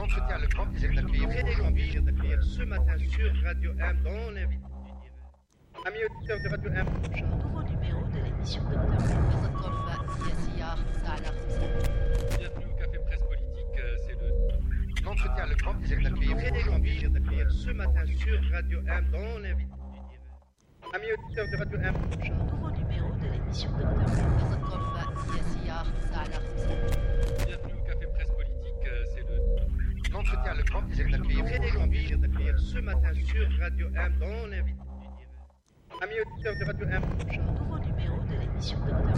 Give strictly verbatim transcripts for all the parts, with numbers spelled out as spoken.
L'entretien, le grand plaisir d'accueillir, très grand plaisir d'accueillir ce matin sur Radio M dans l'invité du dire. Amis auditeurs de Radio M. Un nouveau numéro de l'émission Docteur Bienvenue au Café Presse Politique, euh, c'est le... L'entretien, le grand plaisir d'accueillir, très grand plaisir d'accueillir ce matin sur Radio M dans l'invité du dire. Amis auditeurs de Radio M. Un nouveau numéro de l'émission Docteur Bienvenue au Café Presse Politique, euh, c'est le... L'entretien, le grand plaisir d'accueillir, très grand plaisir d'accueillir ce matin sur Radio M dans l'invité du dire. Amis auditeurs de Radio M. Un nouveau numéro de l'émission Docteur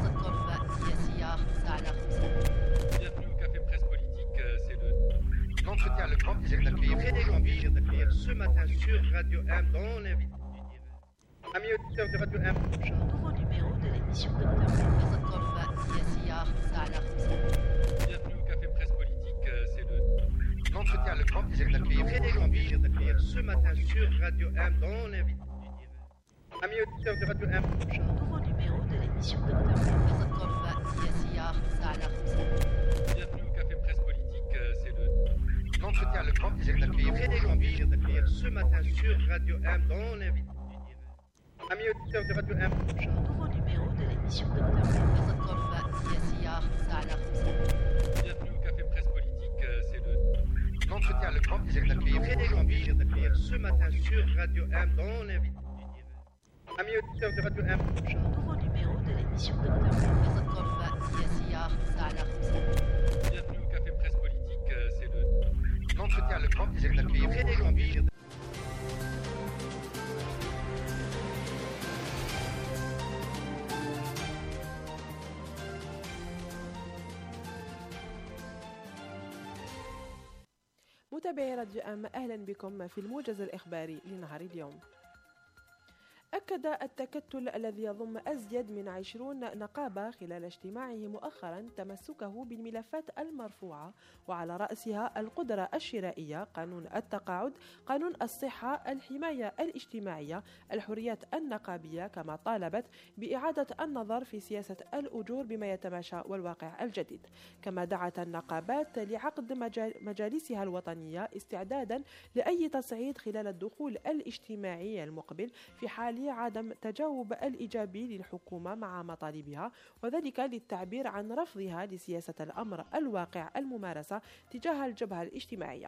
Bienvenue au Café Presse Politique, euh, c'est le... L'entretien, le grand plaisir d'accueillir, très grand plaisir d'accueillir ce matin sur Radio M dans l'invité du dire. Amis auditeurs de Radio M. Un nouveau numéro de l'émission Docteur Bienvenue au Café Presse Politique, euh, c'est le... L'entretien, le grand plaisir d'accueillir, très grand plaisir d'accueillir ce matin sur Radio M dans l'invité du dire. Amis auditeurs de Radio M. Un nouveau numéro de l'émission Docteur Bienvenue au Café Presse Politique, euh, c'est le... L'entretien, le grand plaisir d'accueillir, très grand plaisir d'accueillir ce matin sur Radio M dans l'invité du dire. Amis auditeurs de Radio M. Un nouveau numéro de l'émission Docteur Bienvenue au Café Presse Politique, euh, c'est le... L'entretien, le grand plaisir d'accueillir, très grand plaisir d'accueillir ce matin sur Radio M dans l'invité du dire. Amis auditeurs de Radio M. Un nouveau numéro de l'émission Docteur Bienvenue au Café Presse Politique, euh, c'est le... L'entretien, le grand plaisir d'accueillir, très grand plaisir. متابعي راديو أم، أهلا بكم في الموجز الإخباري لنهار اليوم. أكد التكتل الذي يضم أزيد من عشرين نقابة خلال اجتماعه مؤخرا تمسكه بالملفات المرفوعة وعلى رأسها القدرة الشرائية، قانون التقاعد، قانون الصحة، الحماية الاجتماعية، الحريات النقابية، كما طالبت بإعادة النظر في سياسة الأجور بما يتماشى والواقع الجديد. كما دعت النقابات لعقد مجالسها الوطنية استعدادا لأي تصعيد خلال الدخول الاجتماعي المقبل في حال عدم تجاوب الإيجابي للحكومة مع مطالبها، وذلك للتعبير عن رفضها لسياسة الأمر الواقع الممارسة تجاه الجبهة الاجتماعية.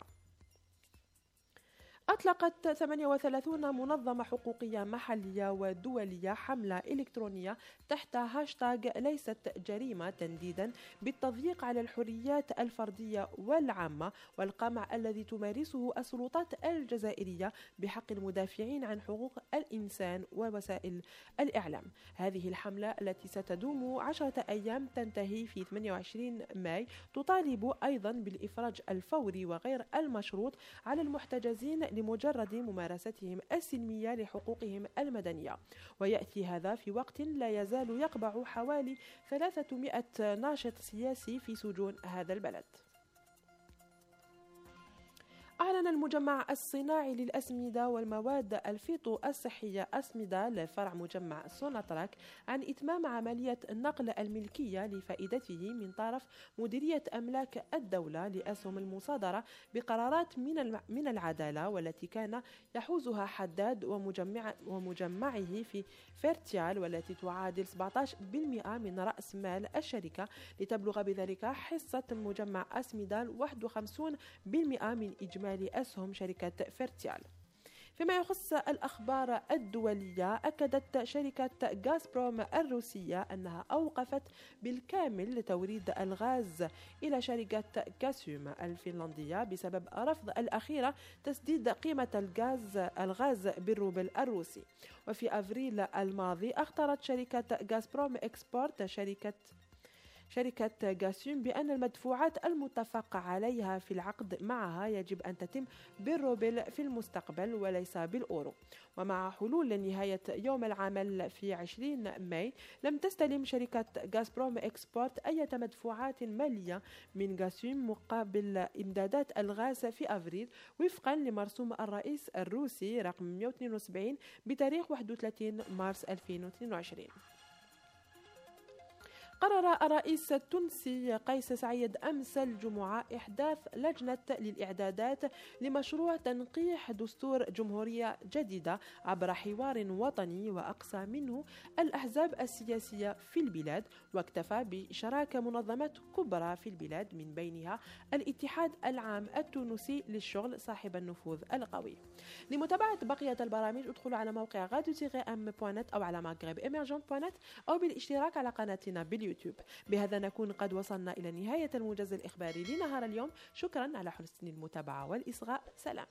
أطلقت ثمانية وثلاثين منظمة حقوقية محلية ودولية حملة إلكترونية تحت هاشتاغ ليست جريمة، تنديدا بالتضييق على الحريات الفردية والعامة والقمع الذي تمارسه السلطات الجزائرية بحق المدافعين عن حقوق الإنسان ووسائل الإعلام. هذه الحملة التي ستدوم عشرة أيام تنتهي في ثمانية وعشرين ماي تطالب أيضا بالإفراج الفوري وغير المشروط على المحتجزين لمجرد ممارستهم السلمية لحقوقهم المدنية، ويأتي هذا في وقت لا يزال يقبع حوالي ثلاثمائة ناشط سياسي في سجون هذا البلد. أعلن المجمع الصناعي للأسمدة والمواد الفيتو الصحية أسمدة لفرع مجمع سوناتراك عن إتمام عملية نقل الملكية لفائدته من طرف مديرية أملاك الدولة لأسهم المصادرة بقرارات من من العدالة، والتي كان يحوزها حداد ومجمع ومجمعه في فيرتيال، والتي تعادل سبعة عشر بالمئة من رأس مال الشركة، لتبلغ بذلك حصة مجمع أسمدة واحد وخمسين بالمئة من إجمالي أسهم شركة فيرتيال. فيما يخص الأخبار الدولية، أكدت شركة غازبروم الروسية أنها أوقفت بالكامل توريد الغاز إلى شركة غاسوم الفنلندية بسبب رفض الأخيرة تسديد قيمة الغاز الغاز بالروبل الروسي. وفي أفريل الماضي اختارت شركة غازبروم إكسبورت شركة شركة غاسوم بأن المدفوعات المتفق عليها في العقد معها يجب أن تتم بالروبل في المستقبل وليس بالأورو. ومع حلول نهاية يوم العمل في عشرين ماي لم تستلم شركة غازبروم إكسبورت أي مدفوعات مالية من غاسوم مقابل إمدادات الغاز في أفريل، وفقا لمرسوم الرئيس الروسي رقم مئة واثنين وسبعين بتاريخ واحد وثلاثين مارس ألفين واثنين وعشرين. قرر الرئيس التونسي قيس سعيد أمس الجمعة إحداث لجنة للإعدادات لمشروع تنقيح دستور جمهورية جديدة عبر حوار وطني وأقصى منه الأحزاب السياسية في البلاد، واكتفى بشراكة منظمات كبرى في البلاد من بينها الاتحاد العام التونسي للشغل صاحب النفوذ القوي. لمتابعة بقية البرامج ادخلوا على موقع راديو ام دوت نت أو على مغرب إيمرجنت دوت نت أو بالاشتراك على قناتنا باليوتيوب. بهذا نكون قد وصلنا إلى نهاية الموجز الإخباري لنهار اليوم. شكرا على حسن المتابعة والإصغاء. سلام.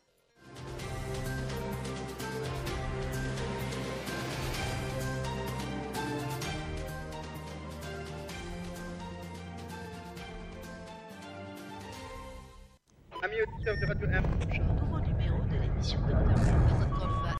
Amis auditeurs de Radio M. Nouveau numéro de l'émission Docteur M.